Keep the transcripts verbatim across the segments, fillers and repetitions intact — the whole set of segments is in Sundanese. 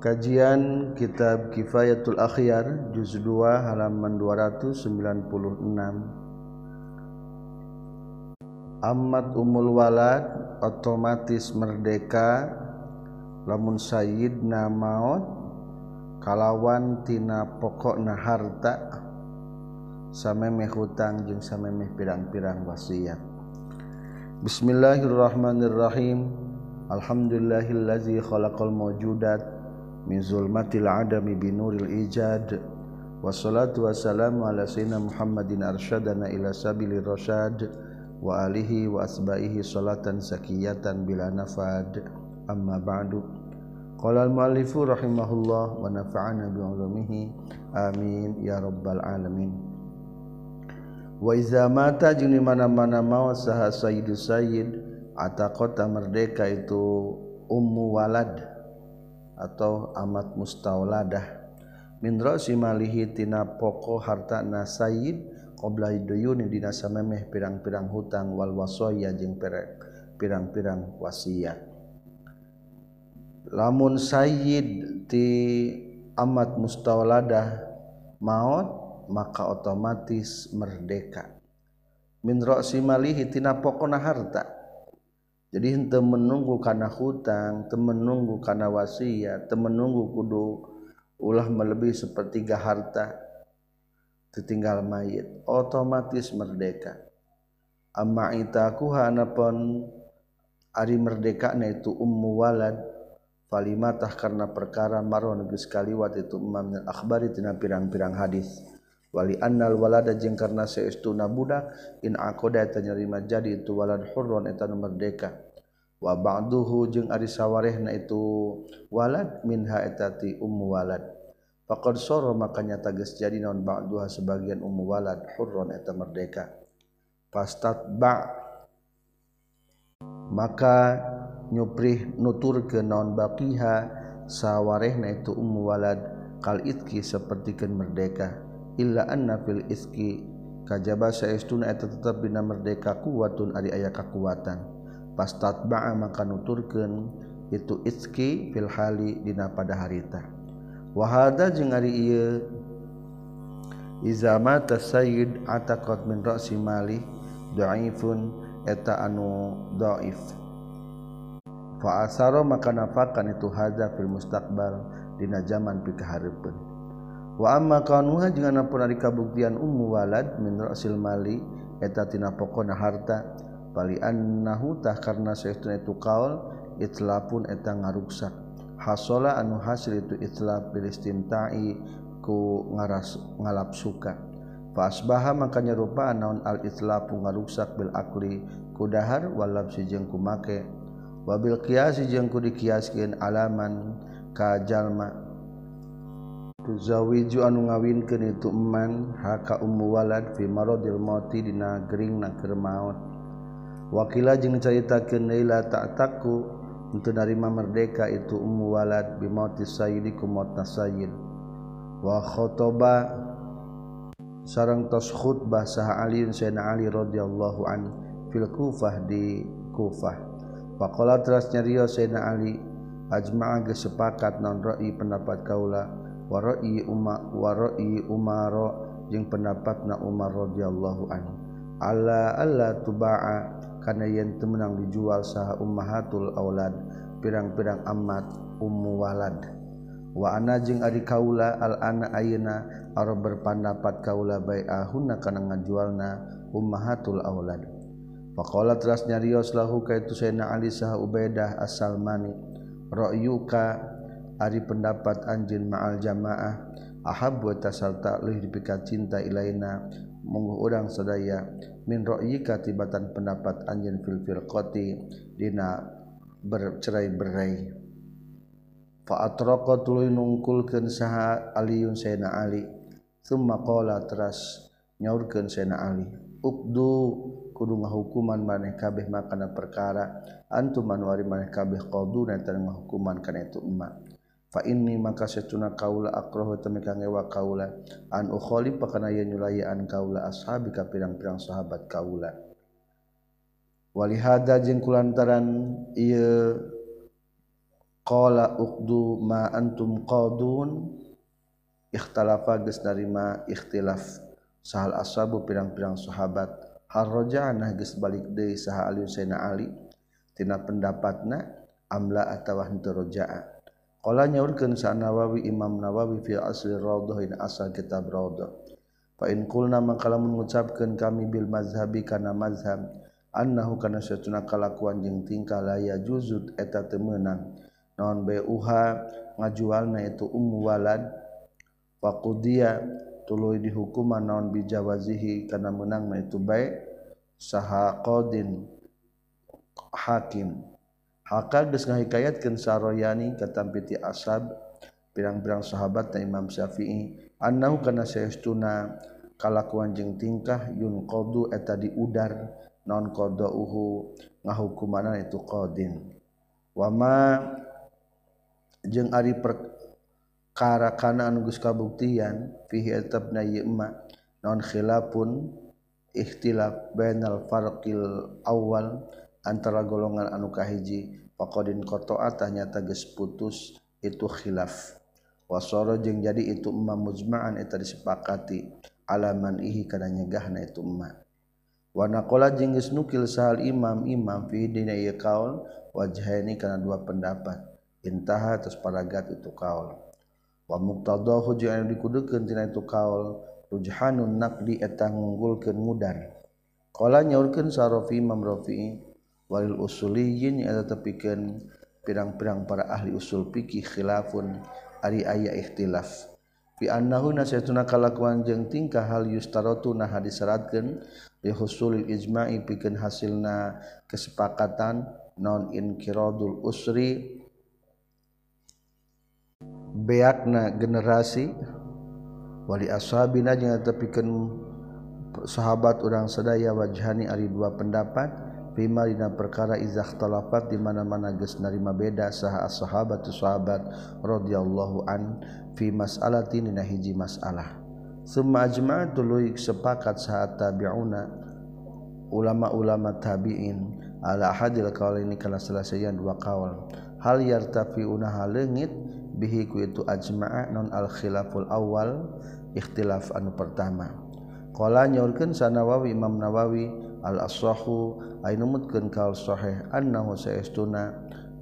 Kajian Kitab Kifayatul Akhyar juz dua halaman dua ratus sembilan puluh enam. Amat umul walad otomatis merdeka lamun sayyidna maut kalawan tina pokokna harta samemeh hutang jeung samemeh pirang-pirang wasiat. Bismillahirrahmanirrahim. Alhamdulillahillazi khalaqal mawjudat min zulmatil adami binuril ijad. Wassalatu wassalamu ala sayyidina Muhammadin arsyadana ila sabilir rasyad wa alihi wa asba'ihi salatan sakiyatan bila nafad. Amma ba'du. Qala al-muallifu rahimahullah wa nafa'ana bi ulumihi amin ya rabbal alamin. Wa iza mata jeung di mana-mana maut saha sayyidus sayyid ataqata merdeka itu ummu walad atau amat mustauladah min ra'si malihi tina pokok hartana sayyid qabla duyuni dina samemeh pirang-pirang hutang wal wasaya jeung pirang-pirang wasiat. Lamun sayyid ti amat mustauladah maut maka otomatis merdeka min ra'si malihi tina pokona harta. Jadi henteu menunggu kana hutang, teu menunggu kana wasiat, teu menunggu kudu ulah melebihi sepertiga harta teu tinggal mayit, otomatis merdeka. Amma itakuha anapun ari merdekana itu ummu walad falimatah karena perkara maron geus kaliwat itu imam akhbari tina pirang-pirang hadis. Wali annal walada jeung karna saestuna budak in aqada eta nyarima jadi itu walad hurron eta merdeka. Wa ba'duhu jeung ari sawarehna itu walad minha eta ti ummu walad. Faqad sara makanya tegas jadi naon ba'duha sebagian ummu walad hurron eta merdeka. Fastatba maka nyuprih nuturkeun naon baqiha sawarehna itu ummu walad kal itki sapertikeun merdeka. Illa anna fil iski kajaba saestuna eta tetep dina merdeka kuwatun ari aya kakuatan. Pastatba'a maka nuturkeun itu iski fil hali dina pada harita. Wa hadza jeung ari ieu iza mata sayyid ataqat min ra'si mali dhaifun eta anu dhaif. Fa asara maka nafakan itu hadza fil mustaqbal dina zaman pikahareupeun. Wa amma kanuha jeung anapun ari kabuktian ummu walad min ra'sil mali eta tina pokona harta bali annahu tah karna saestuna itu qaul itlafun eta ngaruksak hasala anu hasil itu itlaf bil istimta'i ku ngaras ngalap suka fa asbaha maka nyarupa naon al itlafu ngaruksak bil akli ku dahar walab si jeung ku make wa bil qiyas jeung ku dikiaskeun alaman ka jalma tuzawiju anu ngawinkeun itu eman haka ummu walad fi maradil mauti dina geringna keur maot. Wakila jeung caritakeun laila ta'taku untuk narima merdeka itu ummu walad bi mauti sayyidi ku mautna sayyid. Wa khotoba sareng tos khutbah saha Ali sayyidina Ali radhiyallahu an fil Kufah di Kufah. Faqala teras nyarios sayyidina Ali ajma'a geus sepakat naon ra'i pendapat kaula wa ra'i umma wa ra'i umara jeung pendapatna Umar radhiyallahu anhu alla alla tuba'a kana yen teu meunang dijual saha ummahatul aulad pirang-pirang amat ummu walad. Wa ana jeung ari kaula al ana ayeuna arep berpendapat kaula bai'ahunna kana ngajualna ummahatul aulad. Faqala teras nyarios lahu kaitu sayyidina Ali saha Ubaidah as-Salmani ra'yuka ari pendapat anjeun ma'al jamaah ahabbu tasalta leuwih dipikat cinta ilaina mungguh urang sadaya min ra'yika tibatan pendapat anjeun fil firqati dina bercerai-berai. Fa atraqa tuluy nungkulkeun saha Aliun sayyidina Ali tsumma qala teras nyaurkeun sayyidina Ali uqdu kudu ngahukuman maneh kabeh makana perkara antum manuari maneh kabeh qaduna tan ngahukuman kana itu emma. Fa inni maka satuna kaula akrahu temeka ngewa kaula an ukhalif kana yen nyulayaan kaula ashabi ka pirang-pirang sahabat kaula. Walihada jeung kulantaran ieu qala uqdu ma antum qadun ikhtalafa geus narima ikhtilaf sahal ashabu pirang-pirang sahabat hal raja'na geus balik deui saha Ali Sayyidina Ali tina pendapatna amla atawa henteu raja'a qala nyaurkeun sa Nawawi Imam Nawawi fi asli raudhah in asal kitab raudhah fa in qulna maka lamun ngucapkeun kami bil mazhabi kana mazhab annahu kana satuna kalakuan jeung tingkah la yajuzut eta teu meunang naon bai'uha ngajualna itu ummu walad faqudiya tuluy dihukuman naon bijawazihi kana meunangna itu bae saha qadin hakim haka geus ngahikayatkeun saroyani katampiti ashab pirang-pirang sahabat ta Imam Syafi'i annahu kana saestuna kalakuan jeung tingkah yun qadu eta diudar naon qadauhu ngahukumanna itu qadin wama jeung ari perkara kana anu geus kabuktian fihi etabna ieu ma naon khilafun ikhtilaf bainal farqil awal antara golongan anu kahiji faqadin qata'at nyata geus putus itu khilaf wasara jeung jadi itu emma mujma'an eta disepakati alaman ihi kana nyegahna itu emma wa naqala jeung geus nukil sahal imam imam fi dina ieu kaul wajhaini kana dua pendapat intaha terus paragat itu kaul wa muqtadahu jeung anu dikudukeun tina itu kaul rujhanun naqdi eta ngunggulkeun mudar qala nyaurkeun sarafi Imam Rafi'i walil usuliyyin eta tepikeun pirang-pirang para ahli usul fikih khilafun ari aya ikhtilaf fi annahu nasatuna kalakuan jeung tingkah hal yustaratu nah disyaratkeun li husulil ijma'i pikeun hasilna kesepakatan non inqiradul usri beakna generasi wali ashabina jeung tepikeun sahabat urang sadaya wajhani ari dua pendapat bima dina perkara izah talafat di mana-mana geus narima beda saha as-sahabatu sahabat radhiyallahu an fi mas'alatin dina hiji masalah summa ajma'at tuluy sepakat saha tabi'una ulama-ulama tabi'in ala hadil qaulaini kana salasayan dua qaul hal yartafiuna haleungit bihi ku itu ajma'a non al khilaful awal ikhtilaf anu pertama qala nyaurkeun sa Nawawi Imam Nawawi al ashahu aya numutkeun kaul sahih annahu saestuna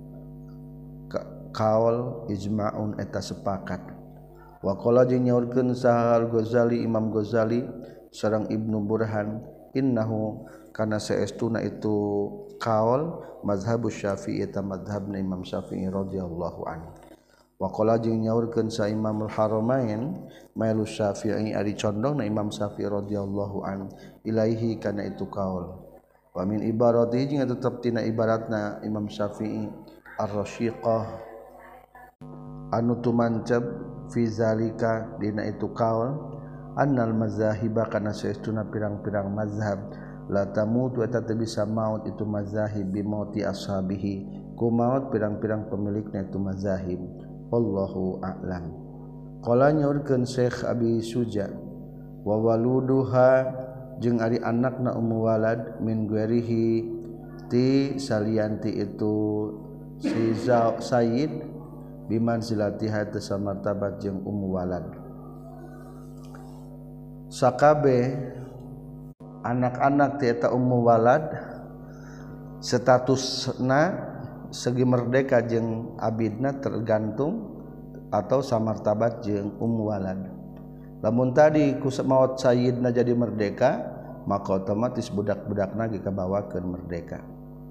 kaul ijma'un eta sepakat wa qala jeung nyaurkeun sa al Ghazali Imam Ghazali sareng Ibnu Burhan innahu kana saestuna itu kaul mazhabus Syafi'i eta mazhabna Imam Syafi'i radhiyallahu anhu wa qala jeung nyaurkeun sa Imamul Haramain mailu Syafi'i ari condongna Imam Syafi'i radhiyallahu an ilaihi kana itu kaul wa min ibaratihi jeung tetep tina ibaratna Imam Syafi'i ar-rasyiqah anu tumanceb fi zalika dina itu kaul annal mazahiba kana saestuna pirang-pirang mazhab la tamutu eta teu bisa maut itu mazahib bi mauti ashabihi ku maut pirang-pirang pemilikna itu mazahib wallahu a'lam qala nyaurkeun Syekh Abi Suja wa waluduha jeung ari anakna ummu walad min guerihi ti salianti itu si Sayyid biman silatiha tasa martabat jeung ummu walad sakabe anak-anak ti eta ummu walad statusna segi merdeka jeung abidna tergantung atau samartabat jeung ummu walad lamun tadi ku maot sayyidna jadi merdeka maka otomatis budak-budakna ge kabawakeun merdeka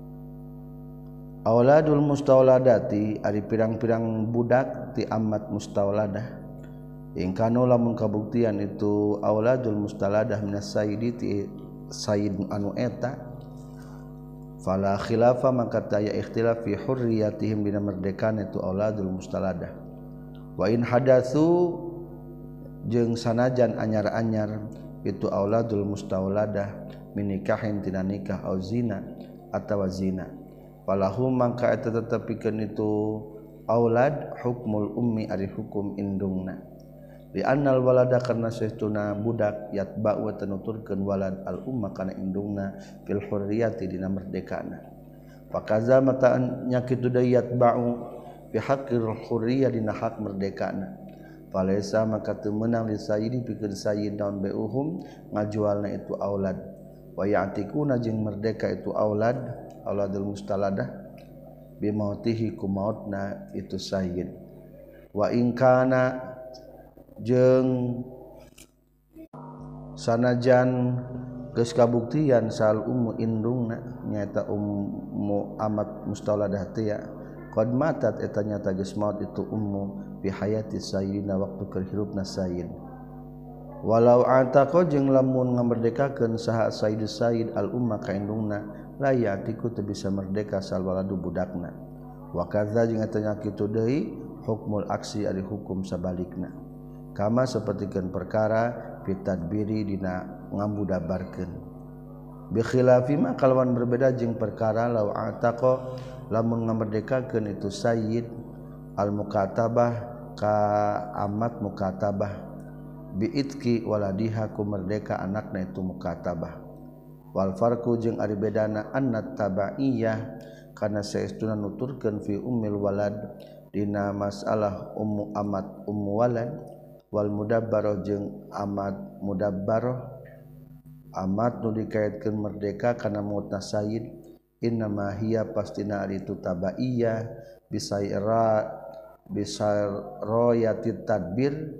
auladul mustauladati ari pirang-pirang budak ti amat mustauladah ingkano lamun kabuktian itu auladul mustaladah minas sayyidi ti sayyid anu eta fala khilafa maka taya ikhtilaf fi hurriyatihim dina merdekaan itu auladul mustaladah wa in hadatsu jeung sanajan anyar-anyar itu auladul mustauladah min nikahin tina nikah au zina atawa zina falahum maka eta tetepikeun itu aulad hukmul ummi ari hukum indungna li annal walada karna saestuna budak yatba'u wa tanuturkeun walad al umma kana indungna fil hurriyati dina merdekana fakaza mata nyakitu da yatba'u fi haqqil hurriyah dina hak merdekana falaisa maka teu meunang li sayyidi pikeun sayyid naon beuhum ngajualna itu aulad wa ya'tikuna jeung merdeka itu aulad auladul mustaladah bimautihi ku mautna itu sayyid wa in kana jeung sanajan geus kabuktian sal ummu indungna nyaeta ummu amat mustaladah teh ya qad matat eta nyata geus maut itu ummu bi hayati sayyidina waktu keur hirupna sayyid walau ataqa jeung lamun ngamerdekakeun saha sayyid sayyid al umma ka indungna la ya'tiku teu bisa merdeka sal waladu budakna wa kadza jeung eta nya kitu deui hukmul aksi ari hukum sabalikna kama sapertikeun perkara fitadbiri dina ngambudabarkeun bi khilafi ma kalawan berbeda jeung perkara law ataqa lamun ngamerdekakeun itu sayyid al mukatabah ka amat mukatabah bi itqi waladiha ku merdeka anakna itu mukatabah wal farqu jeung ari bedana annat tabaiyah kana saestuna nuturkeun fi ummil walad dina masalah ummu amat ummu walad wal mudabbarah jeung amat mudabbarah amat nu dikaitkeun merdeka kana mautna sayyid innama hiya pastina ari tu tabaiyah bisaira bisarayatit tadbir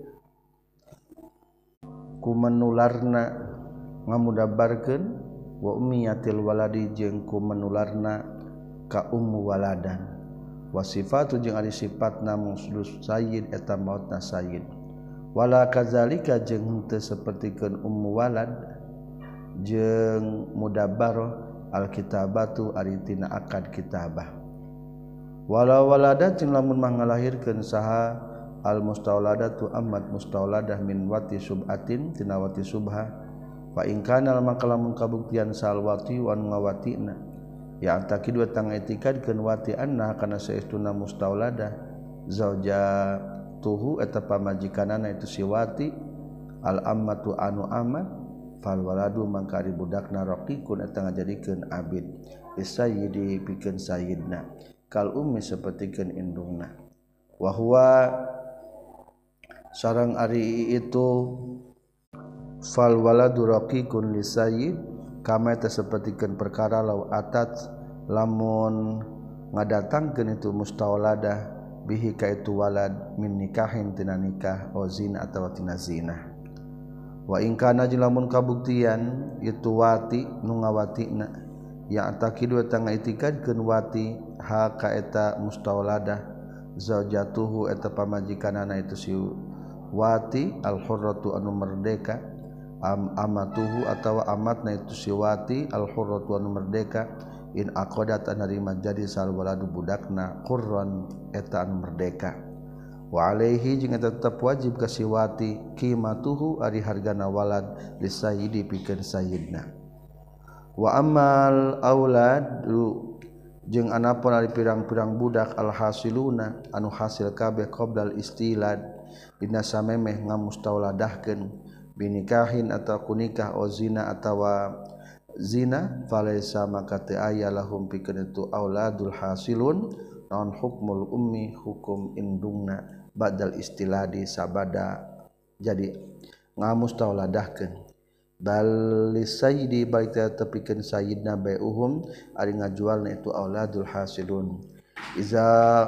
ku menularna ngamudabbarkeun wa ummiyatil waladi jeung ku menularna ka ummu waladan wa sifatu jeung ari sifatna musdus sayyid eta mautna sayyid wala kadzalika jeung teu sapertikeun ummu walad jeung mudabbarah alkitabatu ari tina akad kitabah walau waladat jeung lamun mangalahirkeun saha al mustauladatu amat mustauladah min wati subatin tina wati subha fa in kana maka lamun kabuktian sal wati wan ngawatina ya takidu tang etikadkeun wati anna kana saestuna mustauladah zauja tuhu eta pamajikanana itu si wati al ammatu anu amat fal waladu mangka ari budakna raqiqun eta ngajadikeun abid isayyidi pikeun sayyidna kal ummi sapertikeun indungna wa huwa sareng ari itu fal waladu raqiqun lisayyid kama eta sapertikeun perkara law atat lamun ngadatangkeun itu mustauladah bihi ka itu walad min nikahin tina nikah o zina atawa tina zina wa in kana lamun kabuktian itu wati nu ngawatina ya takidu eta ngaitikadkeun wati ha ka eta mustauladah zaujatuhu eta pamajikanana itu si wati al hurratu anu merdeka am amatuhu atawa amatna itu si wati al hurratu anu merdeka in aqadat anarima jadi sal waladu budakna qurran eta anu merdeka wa alaihi jeung eta tetep wajib ka si wati qimatuhu ari hargana walad lisayyidi pikeun sayyidna wa amal aulad jeung anapun ari pirang-pirang budak al hasiluna anu hasil kabeh qabdal istilad dina samemeh ngamustauladahkeun binikahin atau kunikah o zina atawa zina falaisa maka teu aya lahum pikeun itu auladul hasilun naon hukmul ummi hukum indungna badal istiladi sabada jadi ngamustauladahkeun bal lisayyidi baik tepikeun sayyidna bai'uhum ari ngajualna itu auladul hasilun iza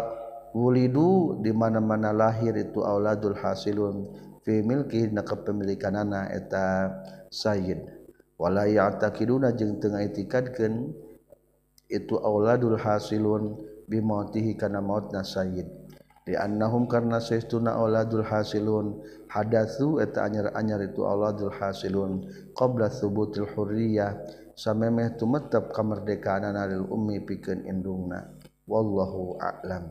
wulidu di mana-mana lahir itu auladul hasilun fi milki na kepemilikanana eta sayyid wala ya'taqiduna jeung teu ngaitikadkeun itu auladul hasilun bimautihi kana mautna sayyid di annahum karna saestuna auladul hasilun hadatsu eta anyar-anyar itu auladul hasilun qabla thubutil hurriyah samemeh tumetep kamerdekaanana lil ummi pikeun indungna wallahu a'lam.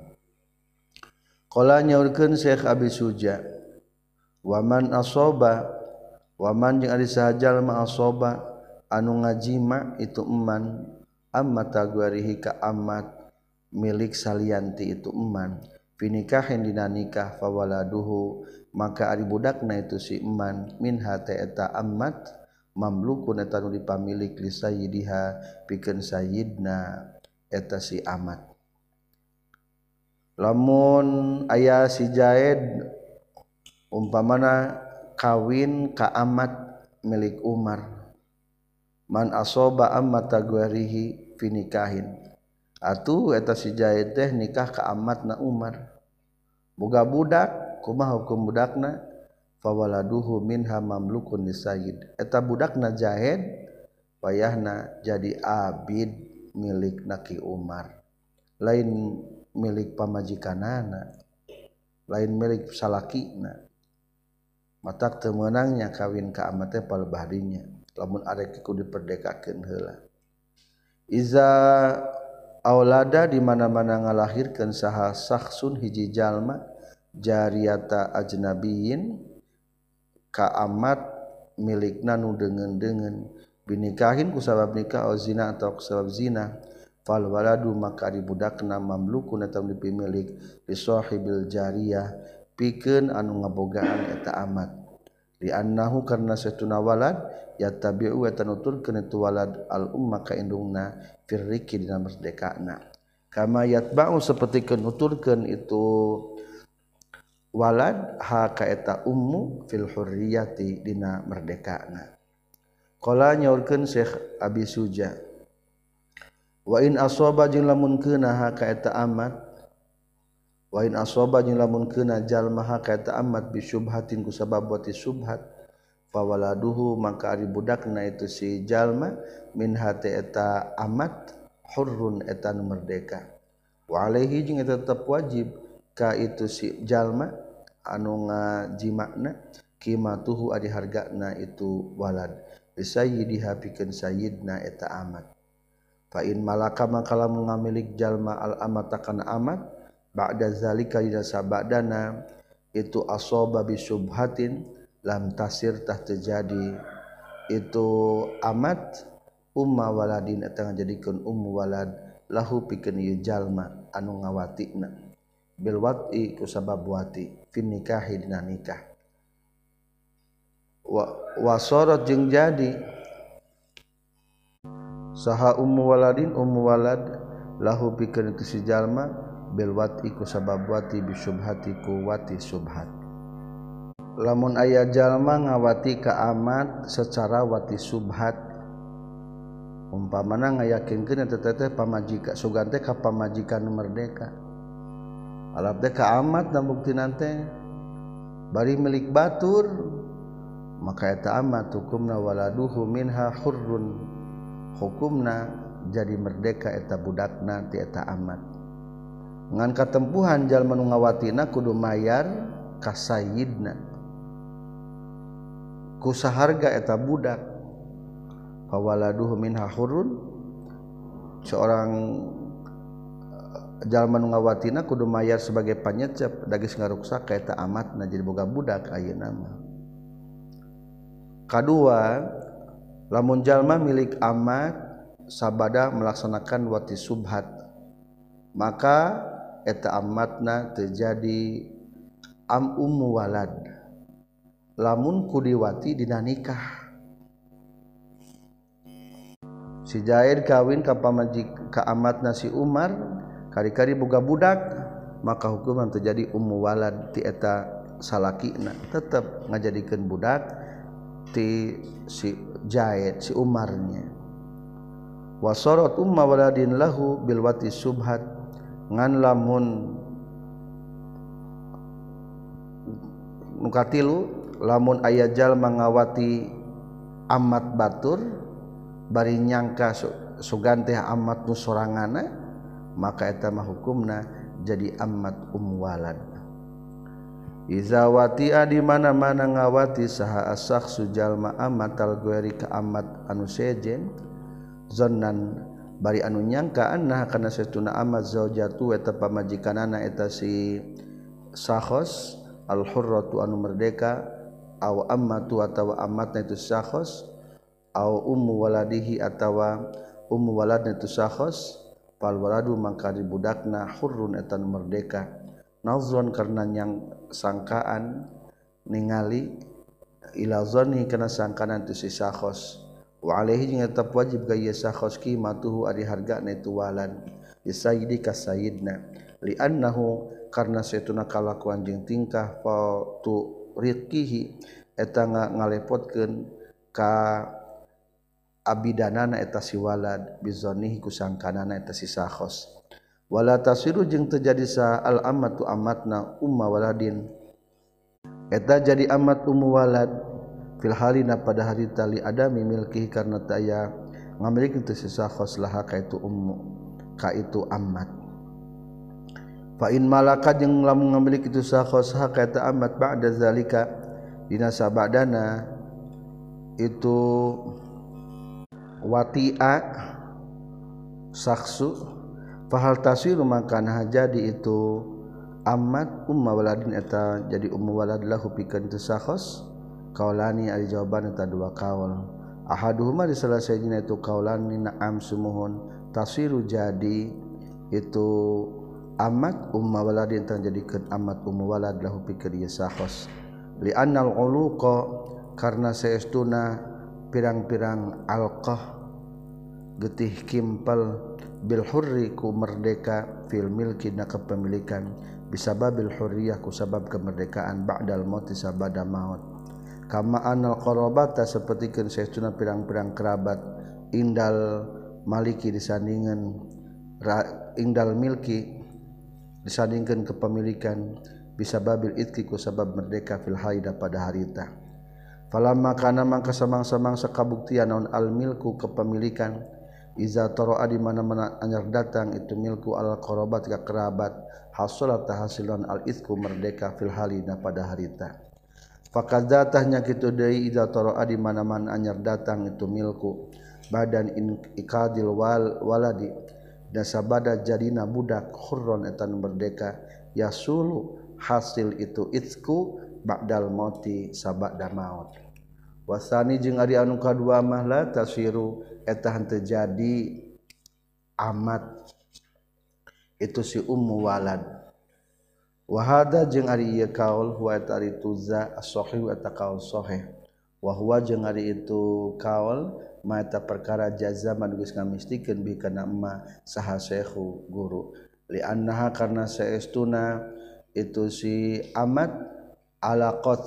Qala nyaurkeun Syekh Abi Suja waman asoba waman jeung ari sahajal ma asoba anu ngajima itu eman amma tagwarihi ka amat milik salianti itu eman finikahin dina nikah fawaladuhu maka ari budakna itu si eman minha ta eta amat mamlukun eta nu dipamilik li sayyidiha pikeun sayyidna eta si amat lamun aya si Zaid umpamana kawin ka amat milik Umar man asoba ammata guarihi fi nikahin atuh eta si Zaid teh nikah ka amatna Umar boga budak kumaha hukum budakna fawaladuhu minha mamlukun lisayyid eta budakna Zaid payahna jadi abid milik naki Umar lain milik pamajikanana lain milik salakina matak teu meunangnya kawin ka amat teh palebahdinya lamun arek kudu diperdekakeun heula iza aulada di mana-mana ngalahirkeun saha sakhsun hiji jalma jariyata ajnabiyin ka amat milikna nu deungeun-deungeun binikahin ku sabab nikah au zina atau ku sabab zina fal waladu maka ari budakna mamlukun eta dipimilik li sahibil jariyah pikeun anu ngabogaan eta amat li annahu karna satuna walad yattabi'u eta nuturkeun itu walad al umma ka indungna firriki dina merdekana kama yatba'u sapertikeun nuturkeun itu walad ha ka eta ummu fil hurriyati dina merdekana qala nyaurkeun Syekh Abi Suja wa in asaba jeung lamun keuna ha ka eta amat wa in asaba jeung lamun keuna jalma ha ka eta amat bi syubhatin ku sabab wati syubhat fa waladuhu maka ari budakna itu si jalma min hati eta amat hurrun eta nu merdeka wa alaihi jeung eta tetep wajib ka itu si jalma anu ngajimakna qimatuhu ari hargana itu walad bisayyidiha pikeun sayyidna eta amat fa in malaka maka lamun ngamilik jalma al amata kana amat ba'da zalika ida sabadana itu asaba bi syubhatin lam tasir tah terjadi itu amat umma waladin eta ngajadikeun ummu walad lahu pikeun ieu jalma anu ngawatina bil wati ku sabab wati fin nikahi dina nikah wa wasarat jeung jadi saha ummu waladin ummu walad lahu pikeun itu si jalma bil wati ku sabab wati bi syubhati ku wati syubhat lamun aya jalma ngawati ka amat secara wati syubhat umpamana ngayakinkeun eta teh pamajikan sugan teh ka pamajikan nu merdeka alap teh ka amat dan bukti nante bari milik batur maka eta amat hukumna waladuhu minha hurrun hukumna jadi merdeka eta budakna ti eta amat ngan katempuhan jalma nu ngawatina kudu mayar ka sayyidna ku saharga eta budak fa waladuhu minha hurrun seorang jalma nu ngawatina kudu mayar sebagai panyecep dagis ngaruksak ka eta amatna jadi boga budak ayeuna mah kadua lamun jalma milik amat sabada melaksanakan wati subhat maka eta amatna terjadi am ummu walad lamun kudiwati dina nikah si Zaid kawin ka pamajik ka amatna si Umar kari-kari boga budak maka hukuman terjadi ummu walad ti eta salakina tetep ngajadikeun budak ti si Zaid si Umarnya wasarat umma waladin lahu bil wati subhat ngan lamun nukatilu lamun aya jalma ngawati amat batur bari nyangka sugan teh amat nu sorangana maka eta mah hukumna jadi amat ummu walad iza watia di mana-mana ngawati saha asak sujalma amat al gueri ka amat anu sejen zannan bari anu nyangka anna kana satuna amat zaujatu eta pamajikanana eta si sakhos al hurratu anu merdeka au ammatu atawa amatna itu sakhos au ummu waladihi atawa ummu waladna itu sakhos fal waladu mangka di budakna hurrun eta merdeka nazon karena yang sangkaan ningali ila zanni kana sangkanan tu si sakhos wa alaihi jeung tetap wajib ka ieu sakhos qimatuhu ari hargana itu walad isayyidi ka sayyidna li annahu karna satuna kalakuan jeung tingkah fatu rizqihi eta ngalepotkeun ka abidanana eta si walad bizonihi kusangkanana eta si sakhos wala tasiru jeung terjadi sa al amatu amatna umma waladin eta jadi amat ummu walad fil halina pada harita li adami milkihi karna taya ngamiliki teu si sakhos laha ka itu ummu ka itu amat fa in malaka jeung lamun ngamiliki itu sakhos ha ka eta amat ba'da zalika dina sabadana itu wati'a saksu fahal tasiru makana jadi itu amat umma waladin eta jadi ummu walad lahu pikeun teu sakhos kaulani ari jawaban eta dua kaul ahaduhuma di salah sahijina itu kaulani na'am sumuhun tasiru jadi itu amat umma waladin eta jadikeun amat ummu walad lahu pikeun ieu sakhos li annal uluqa karna saestuna pirang-pirang alqah getih kimpel bil hurri ku merdeka fil milki na kepemilikan bisababil hurriyah ku sabab kemerdekaan ba'dal mauti sabada maut kama anal qarabata sapertikeun saestuna pirang-pirang kerabat indal maliki disandingan indal milki disandingkeun kepemilikan bisababil itqi ku sabab merdeka fil haida pada harita falamma kana mangka samang-samang sakabuktian naon al milku kepemilikan iza tara'a di mana-mana anyar datang itu milku al qarabat ka kerabat hasulat tahasilan al itqu merdeka fil halina pada harita fakadzatahnya kitu deui iza tara'a di mana-mana anyar datang itu milku badan in ikadil wal waladi dan sabada jadina budak hurron etan merdeka yasulu hasil itu itqu ba'dal mauti sabada maut wasani jeung ari anu kadua mah la tasiru eta henteu jadi amat itu si ummu walad wa hada jeung ari ieu kaul huwa eta ari tuza as-sahih eta kaul sahih wa huwa jeung ari itu kaul ma eta perkara jazaman geus ngamistikeun bi kana emma saha syekhu guru li annaha karna saestuna itu si amat alaqat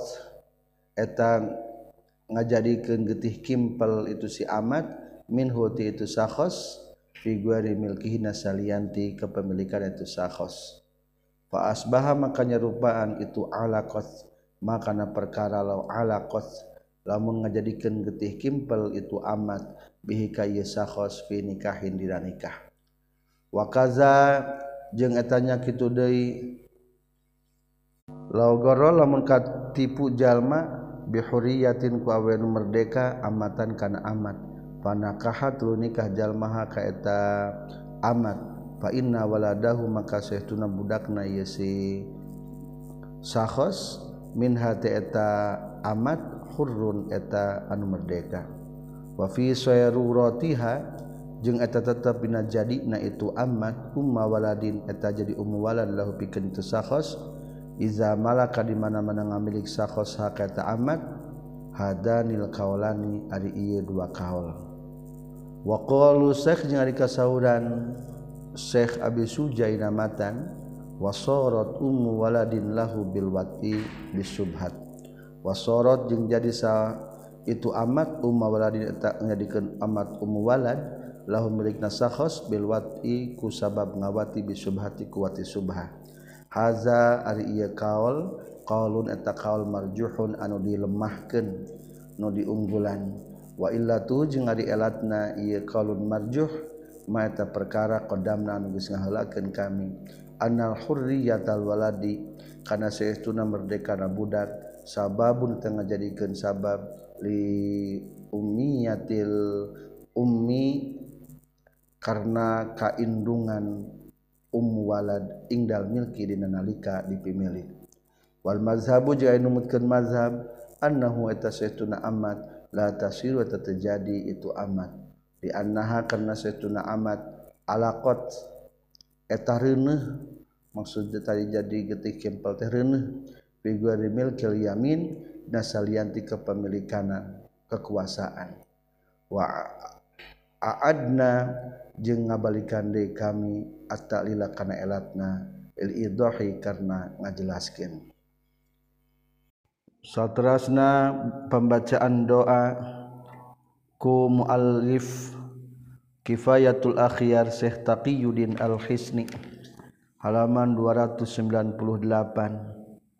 eta ngajadikeun getih kimpel itu si amat minhu ti itu sakhos fi guari milkihi nasalianti kepemilikan itu sakhos fa asbaha makanya rupaan itu alaqat makana perkara law alaqat lamun ngajadikeun getih kimpel itu amat bihi ka ieu sakhos fi nikahin dina nikah wa kaza jeung etanya kitu deui law goro lamun katipu jalma bihuriyatin ku awe nu merdeka amatan kana amat panakahat lu nikah jalmaha ka eta amat fa inna waladahu maka saestuna budakna ieu si sakhos min hati eta amat hurrun eta anu merdeka wa fi sayruratiha jeung eta tetep dina jadina itu amat umma waladin eta jadi ummu walad lahu pikeun itu sakhos iza malaka di mana-mana ngamilik sakhos hakata amat hadanil kaulani ari ieu dua kaul wa qalu syekh jeung ari kasauran Syekh Abi Sujaina matan wasarat ummu waladin lahu bil wati bisubhat wasarat jeung jadi sa itu amat ummu waladin eta nyadikeun amat ummu walad lahu milikna sakhos bil wati ku sabab ngawati bisubhati ku wati subha haza ari ieu kaul qaulun eta kaul marjuhun anu dilemahkeun nu diunggulan wa illatu jeung ari elatna ieu qaulun marjuh ma eta perkara qadamna anu geus ngaheulakeun kami annal hurriyatal waladi kana saestuna merdekana budak sababun teu ngajadikeun sabab li ummiyatil ummi karna kaindungan ummu walad ingdal milki dina nalika dipimilik wal mazhabu jeung anu numutkeun mazhab annahu eta saestuna amat la tasiru eta terjadi itu amat di annaha karna saestuna amat alaqat eta reuneuh maksudna tadi jadi getih kempel teh reuneuh fi ghairi milkil yamin nasalianti kepemilikanan kekuasaan wa a'adna jeung ngabalikan deui kami at-ta'lila kana elatna idahi karena ngajelaskeun. Saterasna pembacaan doa ku muallif Kifayatul Akhyar Syekh Taqiyuddin Al-Hisni halaman dua ratus sembilan puluh delapan.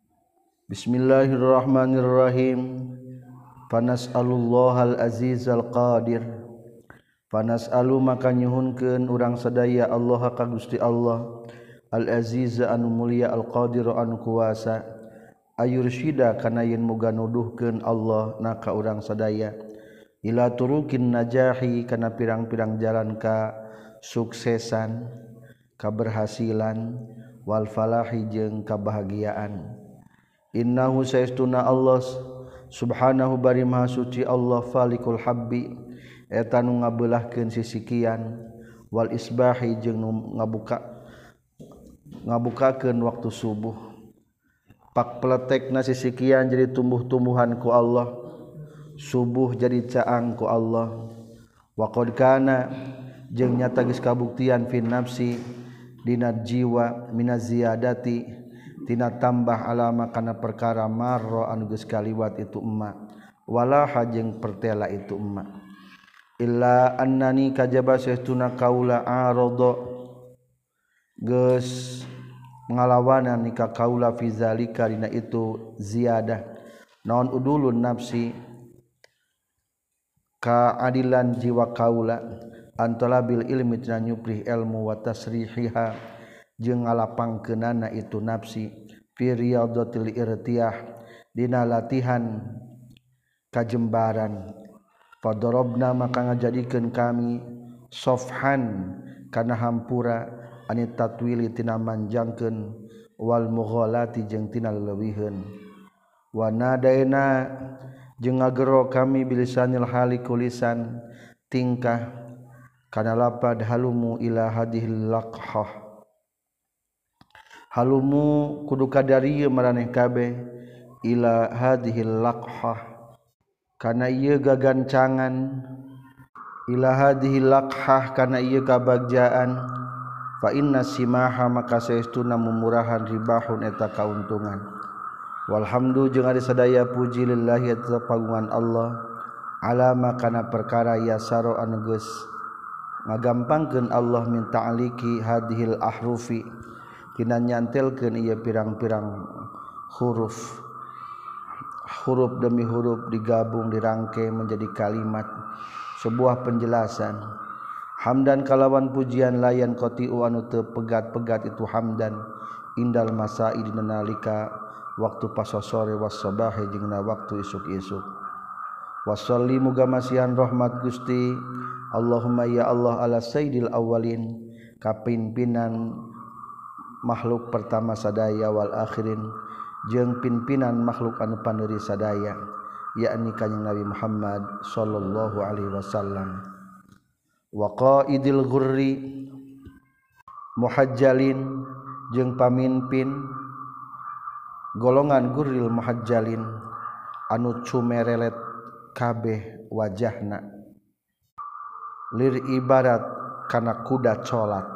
Bismillahirrahmanirrahim. Fanas'alullahal azizal qadir. Fanas'alu maka nyuhunkeun urang sadaya Allah ka Gusti Allah al aziz anu mulia al qadir anu kuasa ayursyida kana yen muga nuduhkeun Allah na ka urang sadaya ila turukin najahi kana pirang-pirang jalan ka suksesan kaberhasilan wal falahi jeung kabahagiaan. Innahu saestuna Allah subhanahu bari maha suci Allah falikul habbi eta nu ngabeulahkeun sisikian wal isbahi jeung nu ngabuka ngabukakeun waktu subuh. Pak peletekna sisikian jadi tumbuh-tumbuhan ku Allah, subuh jadi caang ku Allah. Wa qad kana jeung nyata geus kabuktian fi nafsi dina jiwa minaz ziyadati tina tambah alama kana perkara marra anu geus kaliwat itu emma wala hajeng pertela itu emma illa annani kajaba saestuna kaula arada geus ngalawanan nika kaula fi zalika dina itu ziyadah naon udulun nafsi kaadilan jiwa kaula antalabil ilmi tina nyuprih ilmu wa tasrihiha jeung ngalapangkeunana itu nafsi fi riyadatil irtiyah dina latihan kajembaran fadarabna maka ngajadikeun kami sofhan kana hampura ani tatwili tina manjangkeun wal mughalati jeung tina leuwihkeun wa nadaina jeung ngagero kami bilisanil hali kulisan tingkah kana lapad halumu ila hadhil laqhah halumu kudu kadarieu maraneh kabeh ila hadhil laqhah kana ieu gagancangan ila hadhil laqhah kana ieu kabagjaan fa inna simaha maka saestuna mumurahan ribahun eta kauntungan. Walhamdu jeung ari sadaya puji lillahi eta pagungan Allah alama kana perkara yasaro anu geus ngagampangkeun Allah min ta'aliki hadhil ahrufi tina nyantelkeun ieu pirang-pirang huruf huruf demi huruf digabung dirangkai menjadi kalimat sebuah penjelasan. Hamdan kalawan pujian layan qatiu anu teu pegat-pegat itu hamdan indal masai dina nalika waktu pasosore was sabahe jeung na waktu isuk-isuk. Wassalli muga masihan rahmat Gusti Allahumma ya Allah ala sayyidil awwalin kapimpinan makhluk pertama sadaya wal akhirin jeung pimpinan makhluk anu pandeuri sadaya yakni kanjing Nabi Muhammad sallallahu alaihi wasallam. Wa qaidil ghurri muhajjalin jeung pamimpin golongan gurril muhajjalin anu cumerelet kabeh wajahna lir ibarat kana kuda colat.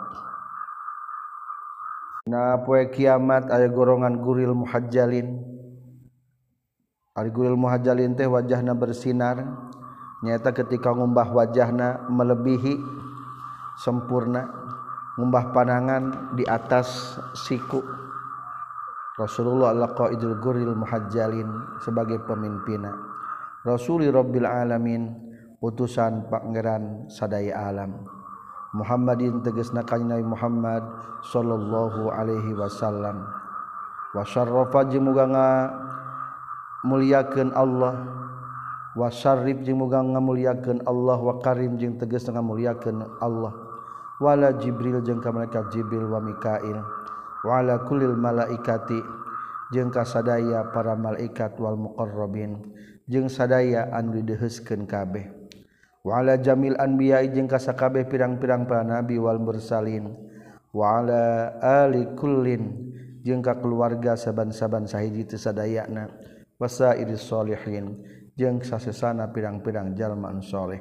Na poe kiamat aya golongan gurril muhajjalin ari gurril muhajjalin teh wajahna bersinar nyata ketika ngumbah wajahna melebihi sempurna ngumbah panangan di atas siku. Rasulullah laqaidul gurril muhajjalin sebagai pemimpinna Rasuli Rabbil alamin utusan pangeran sadaya alam Muhammadin tegasna kanjeng Nabi Muhammad sallallahu alaihi wasallam wa syarrafa jeung muga ngamuliakeun Allah wa syarrif jeung muga ngamuliakeun Allah wa karim jeung tegasna ngamuliakeun Allah wala Jibril jeung ka malaikat Jibril wa Mikail wa ala kullil malaikati jeung ka sadaya para malaikat wal muqarrabin jeung sadaya anu dideheuskeun kabeh wa ala jamil anbiya jeung ka sakabeh pirang-pirang para nabi wal mursalin wa ala ali kullin jeung ka keluarga saban-saban sahiji teu sadayana wasairis sholihin jeung sasesana pirang-pirang jalma anu saleh.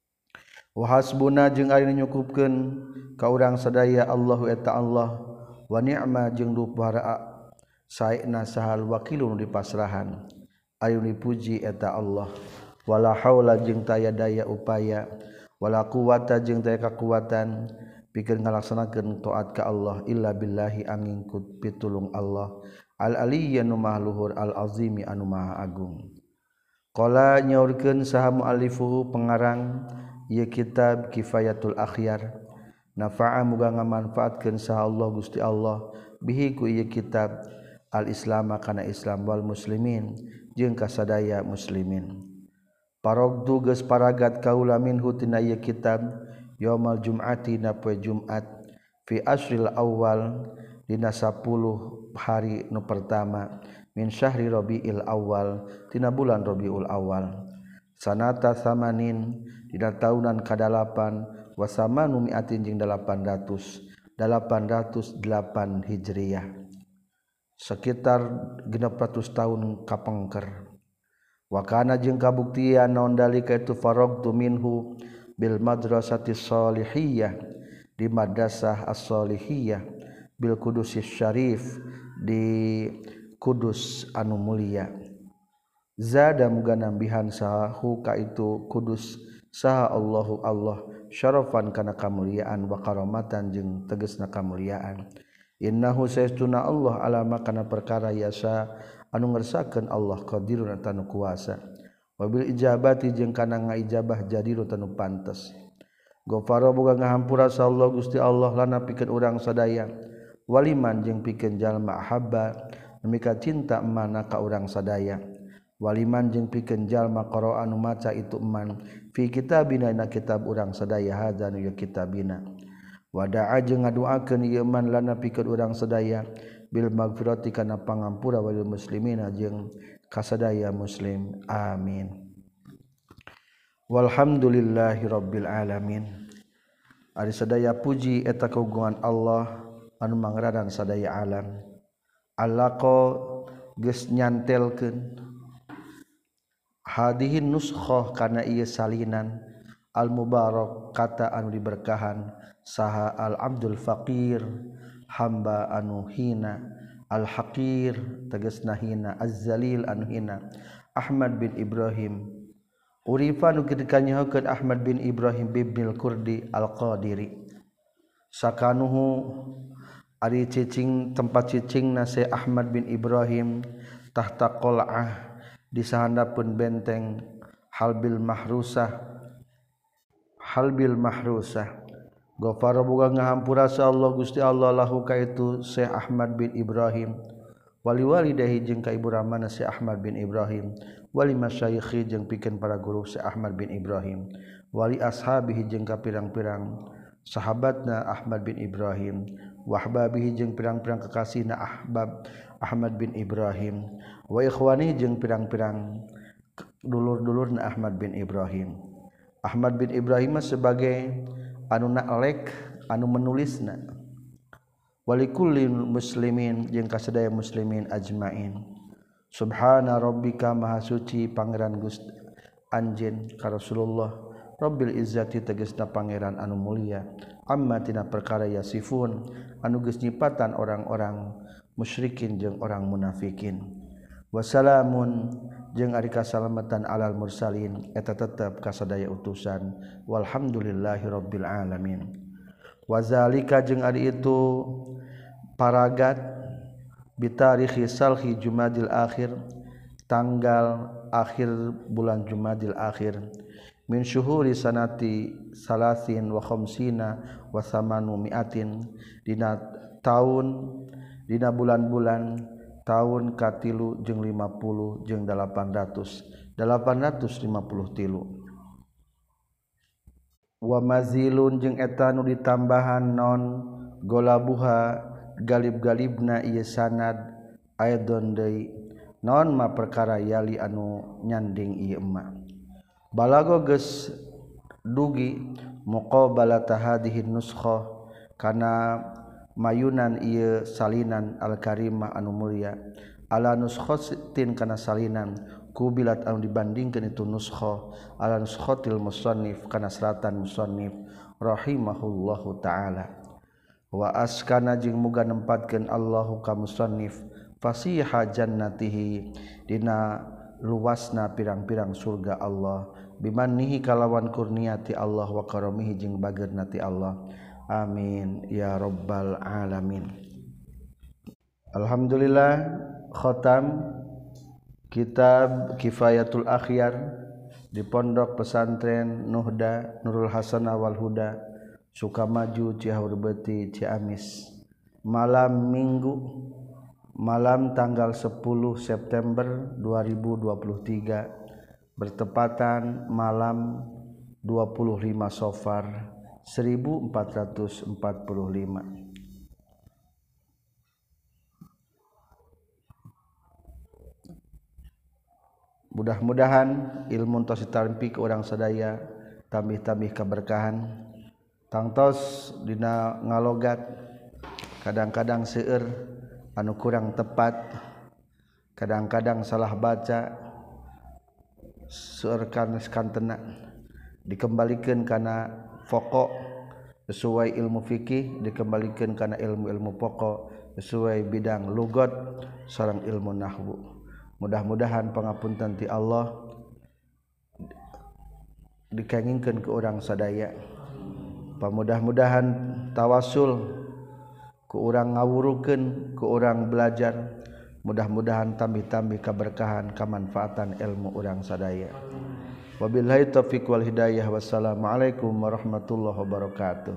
Wa hasbuna jeung ari nyukupkeun ka urang sadaya Allahu eta Allah wa ni'ma jeung dupara saena sahal wakilun di pasrahan anu dipuji eta Allah wala haula jeung taya daya upaya wala quwata jeung taya kakuatan pikeun ngalaksanakeun taat ka Allah illa billahi angin ku pitulung Allah al aliyya nu maha luhur al azimi anu maha agung. Qala nyaurkeun saha muallifuhu pengarang ieu kitab Kifayatul Akhyar nafa'a muga ngamanfaatkeun saha Allah Gusti Allah bihi ku ieu kitab al islam kana Islam wal muslimin jeung kasadaya muslimin. Parogdu geus paragat kaula minhu tina ieu kitab yaumal jum'ati na poe Jumat fi asril awal dina sapuluh hari nu pertama min syahri Rabiul Awal tina bulan Rabiul Awal sanata samanin dina taunan kadalapan wa samanu mi'atin jeung dalapan ratus dalapan ratus delapan Hijriah sekitar genep ratus tahun kapengker wa kana jeung kabuktian naon dalika itu faragtu minhu bil madrasatis shalihiyah di madrasah as-shalihiyah bil Qudusis Syarif di Kudus anu mulia zada muga nambihan sahu ka itu Kudus saha Allahu Allah syarafan kana kamuliaan wa karamatan jeung tegasna kamuliaan innahu saestuna Allah alama kana perkara yasa anu ngersakeun Allah qadirun anu kuasa wabil ijabati jeung kana ngaijabah jadirun anu pantes Ghafara boga ngahampura sa Allah Gusti Allah lana pikeun urang sadaya waliman jeung pikeun jalma habba nemika cinta emana ka urang sadaya waliman jeung pikeun jalma qara'a anu maca itu eman fi kitabina na kitab urang sadaya hadzan ya kitabina wada'a jeung ngaduakeun ieu eman lana pikeun urang sadaya bil magfirati kana pangampura wal muslimina jeung kasadaya muslim amin. Walhamdulillahi rabbil alamin. Ari sadaya puji eta kagungan Allah anu mangradan sadaya alam. Allaqo geus nyantelkeun hadihin nuskhah kana ieu salinan al mubarak kata anu diberkahan saha al abdul faqir hamba anu hina al haqir tegasna hina az-zalil anu hina Ahmad bin Ibrahim urifa nu dikanyahokeun Ahmad bin Ibrahim bibnil Kurdi al-Qadiri sakanuhu ari cicing tempat cicingna se Ahmad bin Ibrahim tahta qal'ah di sahandapeun benteng Halbil Mahrusah Halbil Mahrusah Ghafara boga ngahampura sa Allah Gusti Allah lahu ka itu Syekh Ahmad bin Ibrahim wali walidahi jeung ka ibu ramana Syekh Ahmad bin Ibrahim wali masyayikhi jeung pikeun para guru Syekh Ahmad bin Ibrahim wali ashabihi jeung ka pirang-pirang sahabatna Ahmad bin Ibrahim wahbabihi jeung pirang-pirang kekasihna ahbab Ahmad bin Ibrahim wa ikhwani jeung pirang-pirang dulur-dulurna Ahmad bin Ibrahim. Ahmad bin Ibrahim sebagai anu na'lek anu menulisna walikulli muslimin jeung kasadaya muslimin ajmain. Subhana rabbika maha suci pangeran Gusti anjeun ka Rasulullah Rabbil izzati tegasna pangeran anu mulia amma tina perkara yasifun anu geus nyipatan orang-orang musyrikin jeung orang munafikin wassalamun jeung ari kasalamatan alal mursalin eta tetep kasadaya utusan walhamdulillahi rabbil alamin wazalika jeung ari itu paragat bitarikhi salhi Jumadil akhir tanggal akhir bulan Jumadil akhir min syuhuri sanati salasin wa khamsina wa samanu mi'atin dina taun dina bulan-bulan tahun katilu jeung lima puluh jeung delapan ratus delapan ratus lima puluh tilu wa mazilun jeung eta nu ditambahan non golabuha galib-galibna ieu sanad aidon deui non ma perkara yali anu nyanding ieu emma balago geus dugi muqabalata hadhihi nuskhah kana mayunan ieu salinan al-karimah anu mulia ala nuskhatin kana salinan kubilat anu dibandingkeun itu nuskhah ala nuskhatil musannif kana seratan musannif rahimahullahu taala wa askana jeung muga nempatkeun Allahu ka musannif fasiha jannatihi dina luasna pirang-pirang surga Allah bimannihi kalawan kurniati Allah wa karamihi jeung bageurna ti Allah amin ya rabbal alamin. Alhamdulillah khatam kitab Kifayatul Akhyar di Pondok Pesantren Nuhda Nurul Hasanah wal Huda Sukamaju Cihaur Beuti Ciamis malam Minggu malam tanggal sepuluh September dua ribu dua puluh tiga bertepatan malam dua puluh lima Safar seribu empat ratus empat puluh lima. Mudah-mudahan ilmu tos ditampi ke orang sadaya tambih-tambih keberkahan tangtos dina ngalogat kadang-kadang seueur anu kurang tepat kadang-kadang salah baca seueur kana kantena dikembalikan kana pokok sesuai ilmu fikih dikembalikan kana ilmu-ilmu pokok sesuai bidang lugat sareng ilmu nahwu. Mudah-mudahan pangapunten ti Allah dikengingkeun ke urang sadaya. Pamudah-mudahan tawasul ku urang ngawurukeun ku urang belajar. Mudah-mudahan tambih-tambih keberkahan kamanfaatan ilmu urang sadaya. Wabillahi taufiq wal hidayah. Wassalamualaikum warahmatullahi wabarakatuh.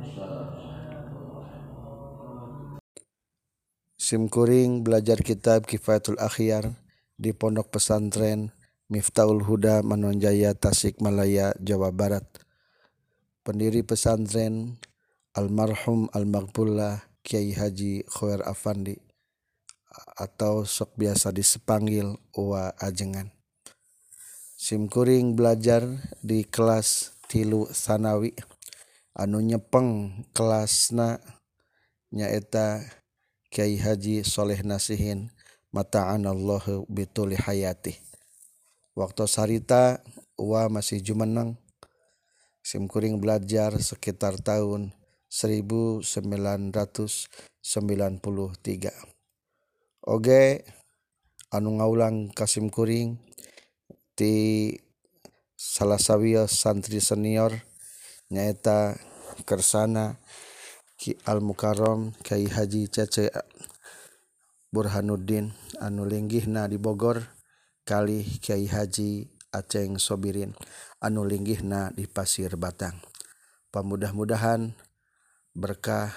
Simkuring belajar kitab Kifayatul Akhyar di Pondok Pesantren Miftahul Huda Manonjaya Tasikmalaya Jawa Barat. Pendiri pesantren almarhum almarhumlah Kiai Haji Khoer Afandi atau sok biasa disepanggil Uwa Ajengan. Simkuring belajar di kelas tilu sanawi anu nyepeng kelasna nyaeta Kiai Haji Soleh Nasihin mata'anallahu bituli hayati. Waktu sarita Uwa masih jumeneng simkuring belajar sekitar tahun seribu sembilan ratus sembilan puluh tiga. Oge anu ngaulang kasimkuring ti salah sawios santri senior nyaeta kersana Ki Al Mukarrom Kiai Haji Cece Burhanuddin anu linggihna di Bogor kali Kiai Haji Aceng Sobirin anu linggihna di Pasir Batang. Pamudah-mudahan berkah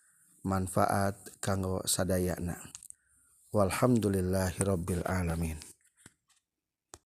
manfaat kanggo sadayana. Walhamdulillahirabbil alamin.